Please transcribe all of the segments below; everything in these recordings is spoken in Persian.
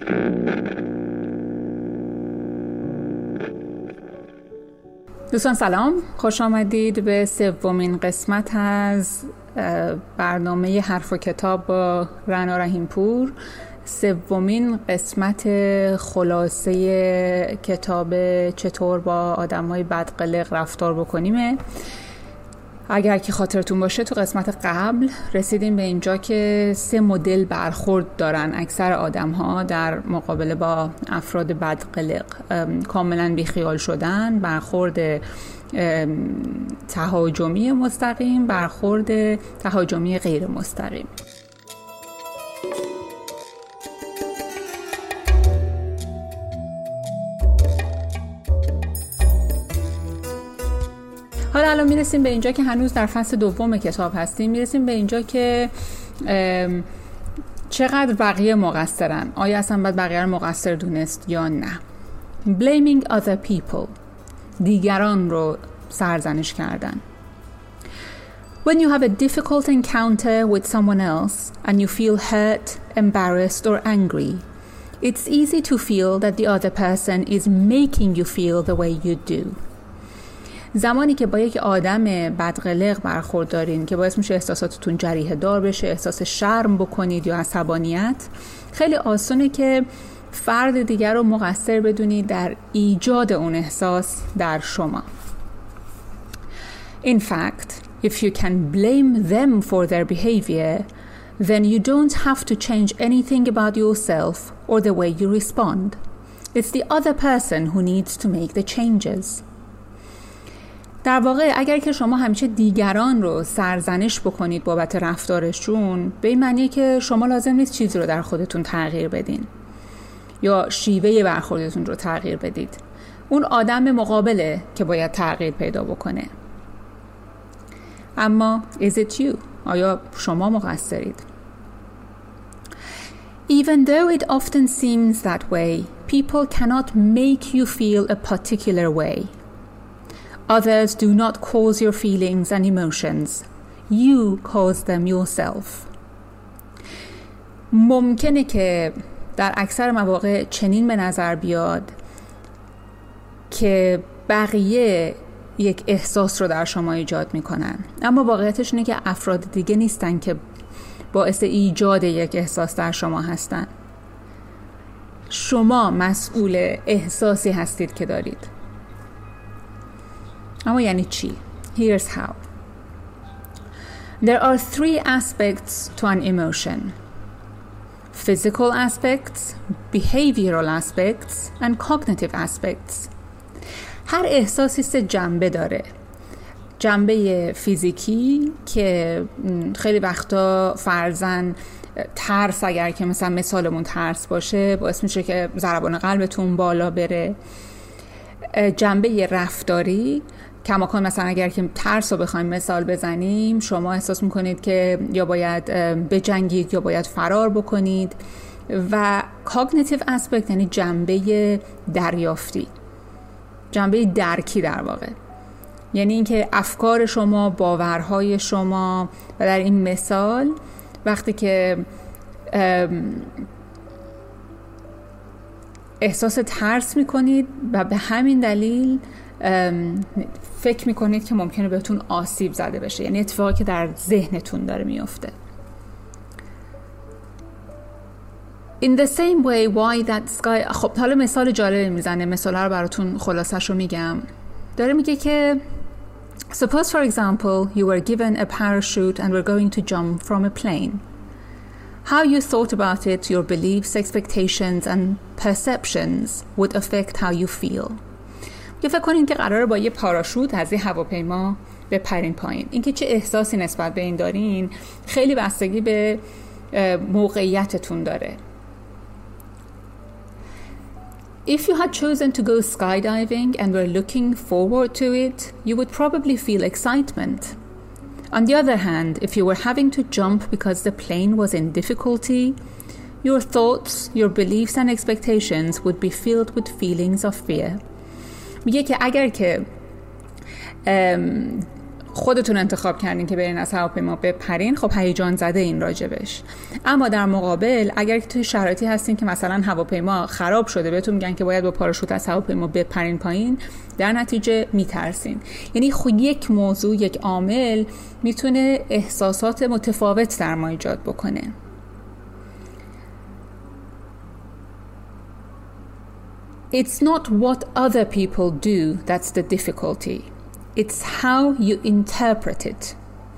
دوستان سلام، خوش آمدید به سومین قسمت از برنامه حرف و کتاب با رنا رحیمپور. سومین قسمت خلاصه کتاب چطور با آدم‌های بدقلق رفتار بکنیمه. اگر که خاطرتون باشه تو قسمت قبل رسیدیم به اینجا که 3 مدل برخورد دارن اکثر آدم‌ها در مقابله با افراد بدقلق: کاملا بیخیال شدن، برخورد تهاجمی مستقیم، برخورد تهاجمی غیر مستقیم. حالا الان میرسیم به اینجا که هنوز در فصل دوم کتاب هستیم. میرسیم به اینجا که چقدر بقیه مقصرن. آیا اصلا باید بقیه رو مقصر دونست یا نه؟ Blaming other people. دیگران رو سرزنش کردن. When you have a difficult encounter with someone else and you feel hurt, embarrassed or angry, it's easy to feel that the other person is making you feel the way you do. زمانی که با یک آدم بدقلق برخورد دارین که باعث میشه احساساتتون جریحه دار بشه، احساس شرم بکنید یا عصبانیت، خیلی آسونه که فرد دیگر رو مقصر بدونید در ایجاد اون احساس در شما. In fact, if you can blame them for their behavior, then you don't have to change anything about yourself or the way you respond. It's the other person who needs to make the changes. در واقع اگر که شما همیشه دیگران رو سرزنش بکنید بابت رفتارشون، به این معنیه که شما لازم نیست چیزی رو در خودتون تغییر بدین یا شیوه برخوردتون رو تغییر بدید. اون آدم مقابله که باید تغییر پیدا بکنه. اما is it you؟ آیا شما مقصرید؟ Even though it often seems that way, people cannot make you feel a particular way. Others do not cause your feelings and emotions. You cause them yourself. ممکنه که در اکثر مواقع چنین به نظر بیاد که بقیه یک احساس رو در شما ایجاد میکنن، اما واقعیتش اینه که افراد دیگه نیستن که باعث ایجاد یک احساس در شما هستن. شما مسئول احساسی هستید که دارید. اما یعنی چی؟ Here's how. There are 3 aspects to an emotion: physical aspects, behavioral aspects, and cognitive aspects. هر احساسی 3 جنبه داره. جنبه فیزیکی که خیلی وقتا فرضاً ترس، اگر که مثلا مثالمون ترس باشه، باعث میشه که ضربان قلبتون بالا بره. جنبه رفتاری، کماکان مثلا اگر که ترس رو بخوایم مثال بزنیم، شما احساس میکنید که یا باید بجنگید یا باید فرار بکنید. و cognitive aspect یعنی جنبه دریافتی، جنبه درکی در واقع، یعنی اینکه افکار شما، باورهای شما. و در این مثال وقتی که احساس ترس میکنید و به همین دلیل فکر میکنید که ممکنه بهتون آسیب زده بشه، یعنی اتفاقی که در ذهنتون داره میفته. In the same way why that sky. خب حالا مثال جالبی میزنه، مثالا رو براتون خلاصش رو میگم. داره میگه که suppose for example you were given a parachute and were going to jump from a plane. How you thought about it, your beliefs, expectations and perceptions would affect how you feel. یه فکر کنین که قراره با یه پاراشوت از یه هواپیما بپرین پایین. اینکه چه احساسی نسبت به این دارین خیلی بستگی به موقعیتتون داره. If you had chosen to go skydiving and were looking forward to it, you would probably feel excitement. On the other hand, if you were having to jump because the plane was in difficulty, your thoughts, your beliefs and expectations would be filled with feelings of fear. میگه که اگر که خودتون انتخاب کردین که برین از هواپیما بپرین، خب هیجان زده این راجبش. اما در مقابل اگر که توی شرایطی هستین که مثلا هواپیما خراب شده، بهتون میگن که باید با پاراشوت از هواپیما بپرین پایین، در نتیجه میترسین. یعنی خود یک موضوع، یک عامل میتونه احساسات متفاوت در ما ایجاد بکنه. It's not what other people do that's the difficulty. It's how you interpret it.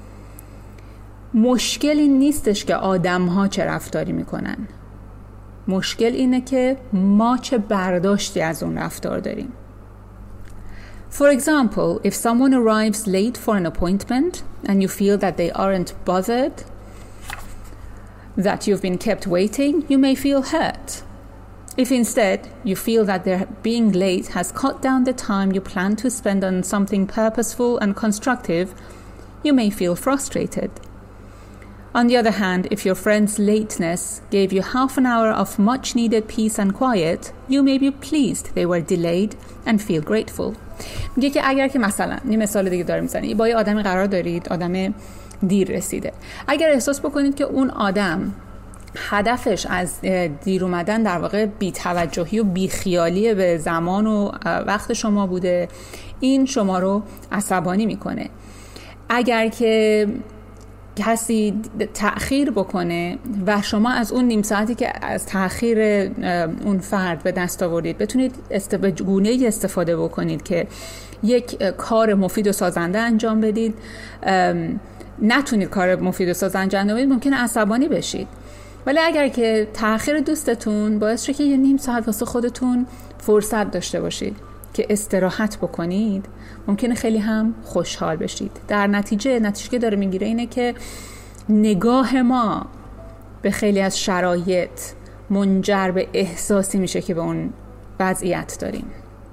مشکل این نیستش که آدم‌ها چه رفتاری میکنن. مشکل اینه که ما چه برداشتی از اون رفتار داریم. For example, if someone arrives late for an appointment and you feel that they aren't bothered, that you've been kept waiting, you may feel hurt. If instead you feel that their being late has cut down the time you plan to spend on something purposeful and constructive, you may feel frustrated. On the other hand, if your friend's lateness gave you half an hour of much needed peace and quiet, you may be pleased they were delayed and feel grateful. میگه که اگر که مثلا یه مثال دیگه داره میزنه، با یه آدمی قرار دارید، آدم دیر رسیده، اگر احساس بکنید که اون آدم هدفش از دیر اومدن در واقع بی‌توجهی و بیخیالی به زمان و وقت شما بوده، این شما رو عصبانی میکنه. اگر که کسی تأخیر بکنه و شما از اون نیم ساعتی که از تأخیر اون فرد به دست آوردید بتونید به گونه‌ای استفاده بکنید که یک کار مفید و سازنده انجام بدید، نتونید کار مفید و سازنده انجام بدید، ممکنه عصبانی بشید. ولی اگر که تأخیر دوستتون باعث شه که یه نیم ساعت واسه خودتون فرصت داشته باشید که استراحت بکنید، ممکنه خیلی هم خوشحال بشید. در نتیجه که داره میگیره اینه که نگاه ما به خیلی از شرایط منجر به احساسی میشه که به اون وضعیت داریم.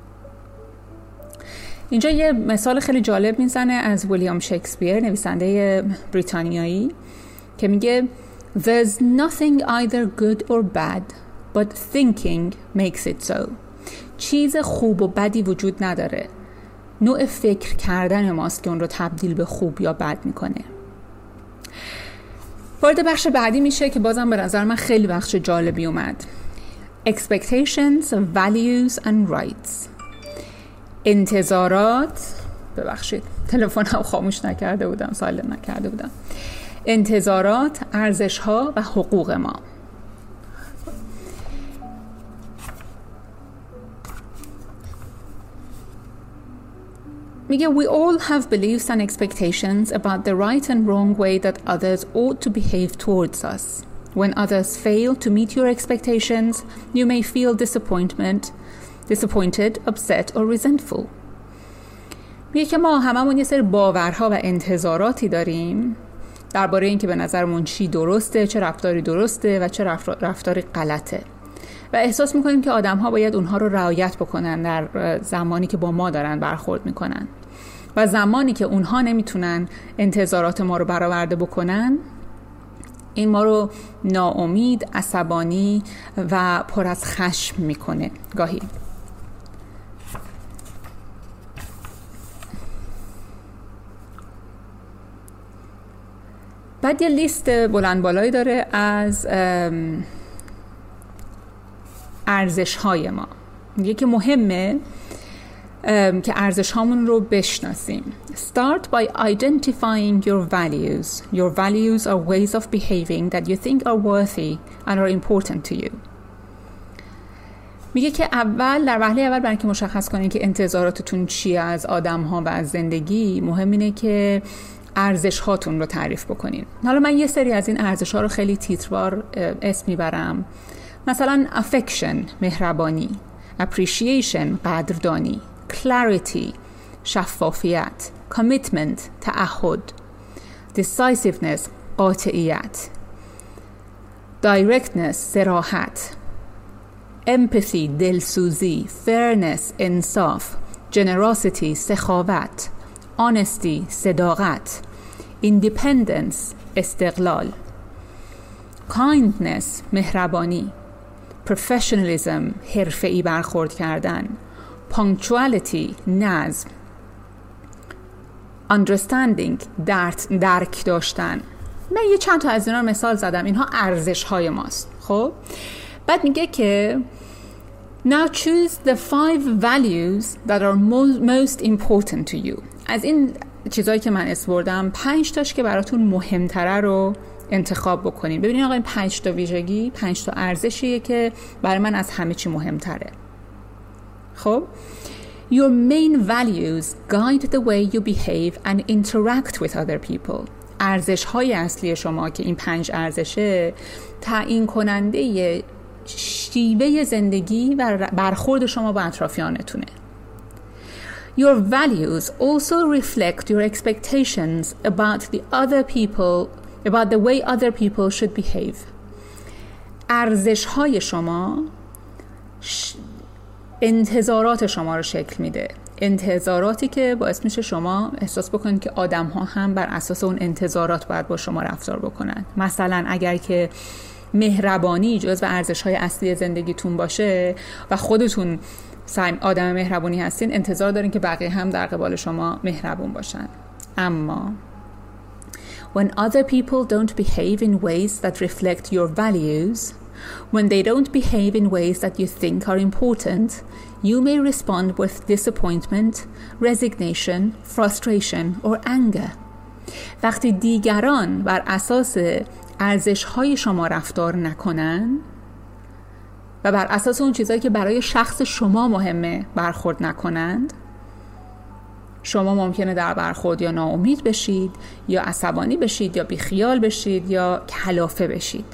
اینجا یه مثال خیلی جالب میزنه از ویلیام شکسپیر، نویسنده بریتانیایی، که میگه There's nothing either good or bad, but thinking makes it so. چیز خوب و بدی وجود نداره. نوع فکر کردن ماست که اون رو تبدیل به خوب یا بد میکنه. وارد بخش بعدی میشه که بازم به نظر من خیلی بخش جالبی اومد. Expectations, values and rights. انتظارات، ببخشید تلفنم خاموش نکرده بودم، سایلنت نکرده بودم. انتظارات، ارزش‌ها و حقوق ما. میگه we all have beliefs and expectations about the right and wrong way that others ought to behave towards us. When others fail to meet your expectations, you may feel disappointed, upset or resentful. میگه که ما هممون یه سری باورها و انتظاراتی داریم درباره این که به نظرمون چی درسته، چه رفتاری درسته و چه رفتاری غلطه، و احساس میکنیم که آدم‌ها باید اونها رو رعایت بکنن در زمانی که با ما دارن برخورد میکنن، و زمانی که اونها نمیتونن انتظارات ما رو برآورده بکنن، این ما رو ناامید، عصبانی و پر از خشم میکنه گاهی. بعد یه لیست بلند بالایی داره از ارزش‌های ما. میگه که مهمه که ارزش‌هامون رو بشناسیم. Start by identifying your values. Your values are ways of behaving that you think are worthy and are important to you. میگه که در وهله اول برای اینکه مشخص کنین که انتظاراتتون چیه از آدم‌ها و از زندگی، مهم اینه که ارزش هاتون رو تعریف بکنین. حالا من یه سری از این ارزش ها رو خیلی تیتروار اسم میبرم. مثلا affection، مهربانی، appreciation، قدردانی، clarity، شفافیت، commitment، تعهد، decisiveness، قاطعیت، directness، صراحت، empathy، دلسوزی، fairness، انصاف، generosity، سخاوت، honesty، صداقت، independence، استقلال، kindness، مهربانی، professionalism، حرفه‌ای برخورد کردن، punctuality، نظم، understanding درک داشتن. من یه چند تا از اینا رو مثال زدم. اینها ارزش های ماست. خب بعد میگه که now choose the 5 values that are most important to you. از این چیزایی که من اسم 5 تاش که براتون مهمتره رو انتخاب بکنین. ببینید آقا این 5 تا ویژگی، 5 تا ارزشیه که برای من از همه چی مهمتره. خب your main values guide the way you behave and interact with other people. ارزش‌های اصلی شما که این 5 ارزشه تعیین کننده شیوه زندگی و برخورد شما با اطرافیانتونه. Your values also reflect your expectations about the way other people should behave. ارزش‌های شما انتظارات شما رو شکل میده. انتظاراتی که باعث میشه شما احساس بکنید که آدم‌ها هم بر اساس اون انتظارات باید با شما رفتار بکنن. مثلا اگر که مهربانی جزو ارزش‌های اصلی زندگیتون باشه و خودتون آدم مهربونی هستین، انتظار دارین که بقیه هم در قبال شما مهربون باشن. اما when other people don't behave in ways that reflect your values, when they don't behave in ways that you think are important, you may respond with disappointment, resignation, frustration or anger. وقتی دیگران بر اساس ارزش‌های شما رفتار نکنن و بر اساس اون چیزایی که برای شخص شما مهمه برخورد نکنند، شما ممکنه در برخورد یا ناامید بشید یا عصبانی بشید یا بیخیال بشید یا کلافه بشید.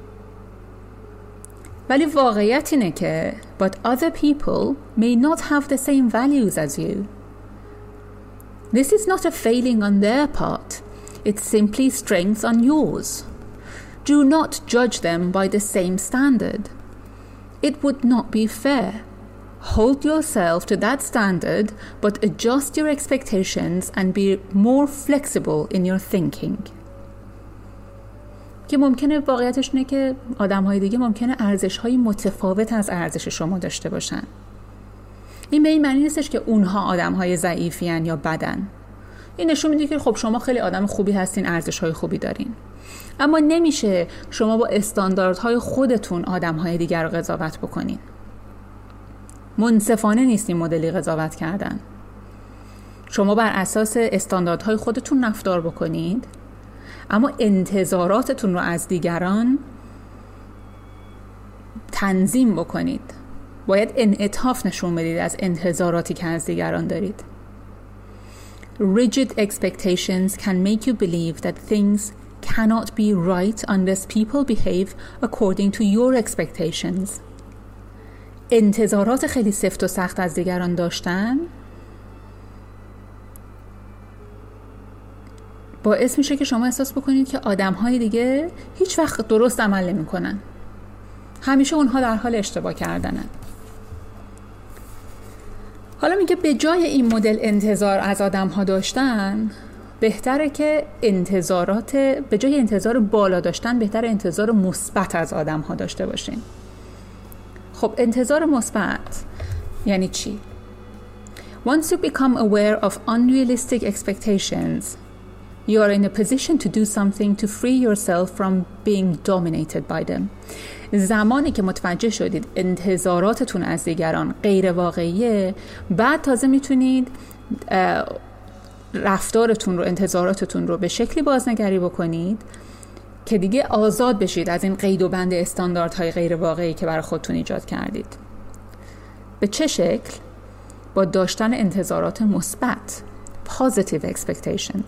ولی واقعیت اینه که but other people may not have the same values as you. This is not a failing on their part. It's simply strength on yours. Do not judge them by the same standard. It would not be fair. Hold yourself to that standard, but adjust your expectations and be more flexible in your thinking. که ممکنه واقعیتش اینه که آدم‌های دیگه ممکنه ارزش‌های متفاوت از ارزش شما داشته باشن. این به این معنی نیستش که اونها آدم‌های ضعیفین یا بدن. این نشون میده که خب شما خیلی آدم خوبی هستین، ارزش‌های خوبی دارین. اما نمیشه شما با استانداردهای خودتون آدم‌های دیگر رو قضاوت بکنین. منصفانه نیست این مدلی قضاوت کردن. شما بر اساس استانداردهای خودتون رفتار بکنید، اما انتظاراتتون رو از دیگران تنظیم بکنید. باید انعطاف نشون بدید از انتظاراتی که از دیگران دارید. Rigid expectations can make you believe that things cannot be right unless people behave according to your expectations. انتظارات خیلی سفت و سخت از دیگران داشتن باعث میشه که شما احساس بکنید که آدم‌های دیگه هیچ وقت درست عمل نمی‌کنن. همیشه اونها در حال اشتباه کردنن. حالا میگه به جای این مدل انتظار از آدم‌ها داشتن، بهتره که به جای انتظار بالا داشتن، بهتره انتظار مثبت از آدم‌ها داشته باشین. خب انتظار مثبت یعنی چی؟ Once you become aware of unrealistic expectations, you are in a position to do something to free yourself from being dominated by them. زمانی که متوجه شدید انتظاراتتون از دیگران غیر واقعیه، بعد تازه میتونید رفتارتون رو، انتظاراتتون رو به شکلی بازنگری بکنید که دیگه آزاد بشید از این قید و بند استانداردهای غیر واقعی که برای خودتون ایجاد کردید. به چه شکل؟ با داشتن انتظارات مثبت، positive expectations.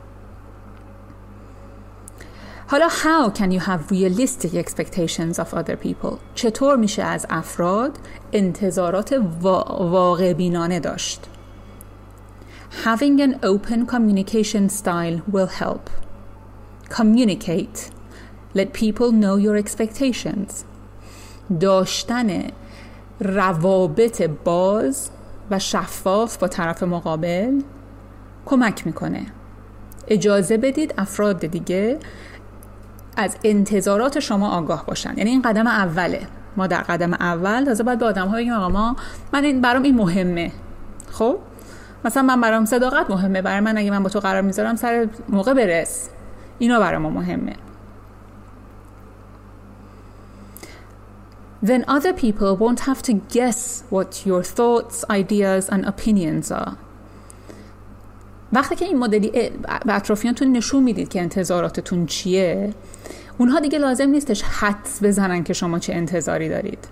حالا how can you have realistic expectations of other people؟ چطور میشه از افراد انتظارات واقع بینانه داشت؟ Having an open communication style will help. Communicate. Let people know your expectations. داشتن روابط باز و شفاف با طرف مقابل کمک میکنه. اجازه بدید افراد دیگه از انتظارات شما آگاه باشن. یعنی این قدم اوله. ما در قدم اول تازه باید به آدم‌ها بگیم آقا برام این مهمه. خب مثلا من برام صداقت مهمه، برای من اگه من با تو قرار میذارم سر موقع برس، اینا برای ما مهمه. Then other people won't have to guess what your thoughts, ideas and opinions are. وقتی که این مدلی به اطرافیانتون نشون میدید که انتظاراتتون چیه، اونها دیگه لازم نیستش حدس بزنن که شما چه انتظاری دارید.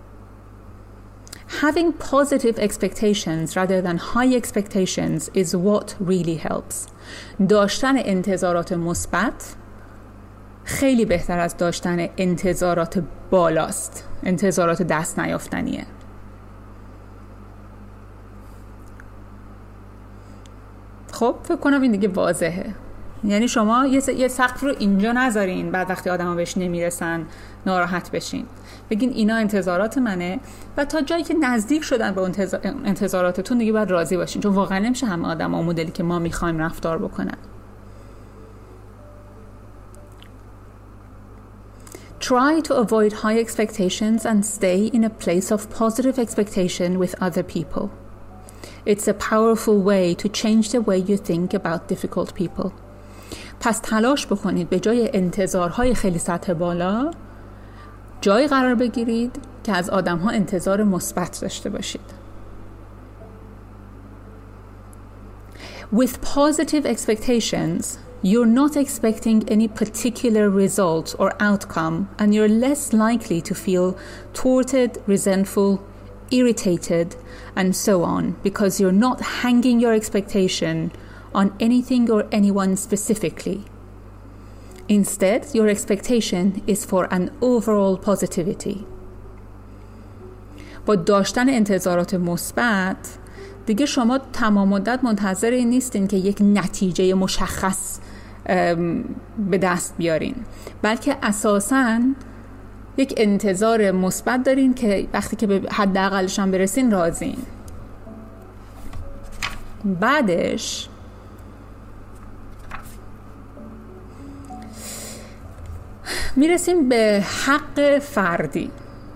Having positive expectations rather than high expectations is what really helps. داشتن انتظارات مثبت خیلی بهتر از داشتن انتظارات بالاست، انتظارات دست نیافتنیه. خب فکر کنم این دیگه واضحه. یعنی شما یه سقف رو اینجا نذارین بعد وقتی آدم ها بهش نمیرسن ناراحت بشین. بگین اینا انتظارات منه و تا جایی که نزدیک شدن به انتظاراتتون دیگه باید راضی باشین، چون واقعا نمیشه همه آدم ها مدلی که ما میخوایم رفتار بکنن. Try to avoid high expectations and stay in a place of positive expectation with other people. It's a powerful way to change the way you think about difficult people. پس تلاش بکنید به جای انتظارهای خیلی سطح بالا جایی قرار بگیرید که از آدم‌ها انتظار مثبت داشته باشید. With positive expectations, you're not expecting any particular result or outcome, and you're less likely to feel thwarted, resentful, irritated, and so on, because you're not hanging your expectation on anything or anyone specifically. Instead, your expectation is for an overall positivity. با داشتن انتظارات مثبت دیگه شما تمام مدت منتظر این نیستین که یک نتیجه مشخص به دست بیارین، بلکه اساساً یک انتظار مثبت دارین که وقتی که به حداقلش هم برسین راضین. بعدش میرسیم به حق فردی.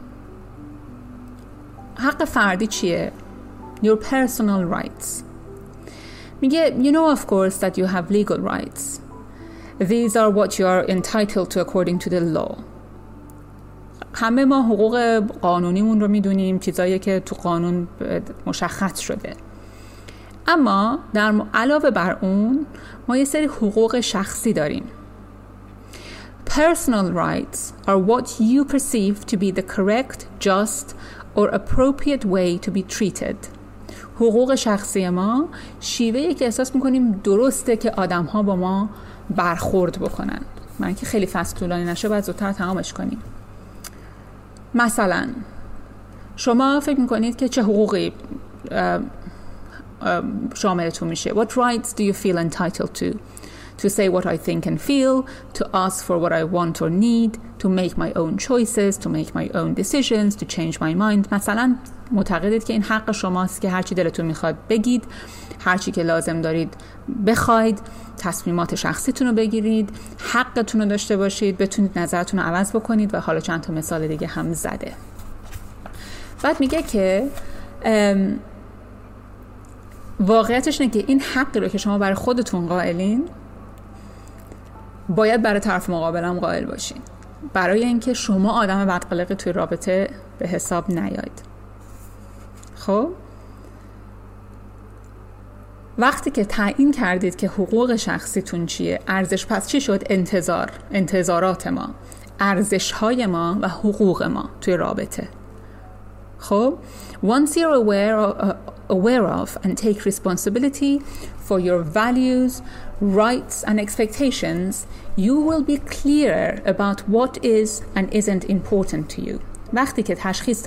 حق فردی چیه؟ Your personal rights. میگه you know of course that you have legal rights. These are what you are entitled to according to the law. همه ما حقوق قانونیمون رو میدونیم، چیزایی که تو قانون مشخص شده. اما در علاوه بر اون ما یه سری حقوق شخصی داریم. Personal rights are what you perceive to be the correct, just or appropriate way to be treated. حقوق شخصی ما شیوهی که احساس میکنیم درسته که آدم ها با ما برخورد بکنن. من که خیلی فصل طولانی نشه باید زودتر تمامش کنیم. مثلا شما فکر میکنید که چه حقوقی شاملتون میشه. What rights do you feel entitled to? To say what I think and feel, to ask for what I want or need, to make my own choices, to make my own decisions, to change my mind. مثلا معتقدید که این حق شماست که هرچی دلتون میخواد بگید، هرچی که لازم دارید بخواید، تصمیمات شخصیتون رو بگیرید، حقتون رو داشته باشید، بتونید نظرتون رو عوض بکنید و حالا چند تا مثال دیگه هم زده. بعد میگه که واقعیتش اینه که این حقی رو که شما برای خودتون قائلین باید برای طرف مقابلم قائل باشین، برای اینکه شما آدم بدقلقی توی رابطه به حساب نیاید. خب وقتی که تعیین کردید که حقوق شخصیتون چیه، ارزش، پس چی شد؟ انتظارات ما، ارزش‌های ما و حقوق ما توی رابطه. خب once you're aware of and take responsibility for your values, rights and expectations, you will be clearer about what is and isn't important to you. وقتی که تشخیص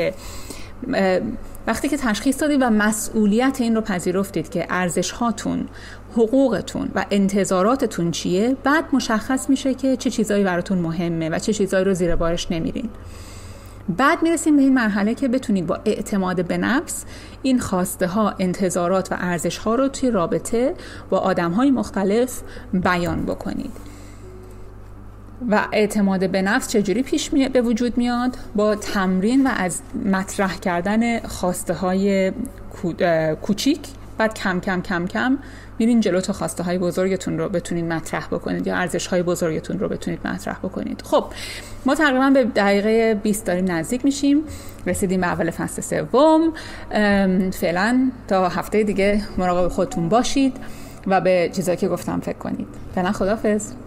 دادید و مسئولیت این رو پذیرفتید که ارزش هاتون، حقوقتون و انتظاراتتون چیه، بعد مشخص میشه که چه چیزایی براتون مهمه و چه چیزایی رو زیر بارش نمیرین. بعد میرسیم به این مرحله که بتونید با اعتماد به نفس این خواسته ها، انتظارات و ارزش ها رو توی رابطه با آدم های مختلف بیان بکنید. و اعتماد به نفس چجوری به وجود میاد؟ با تمرین و از مطرح کردن خواسته های کوچیک بعد کم کم کم کم میرین جلو تا خواسته های بزرگتون رو بتونید مطرح بکنید یا ارزش های بزرگتون رو بتونید مطرح بکنید. خب ما تقریبا به دقیقه 20 داریم نزدیک میشیم، رسیدیم به اول فصل سوم. فعلا تا هفته دیگه مراقب خودتون باشید و به چیزایی که گفتم فکر کنید. فعلا خداحافظ.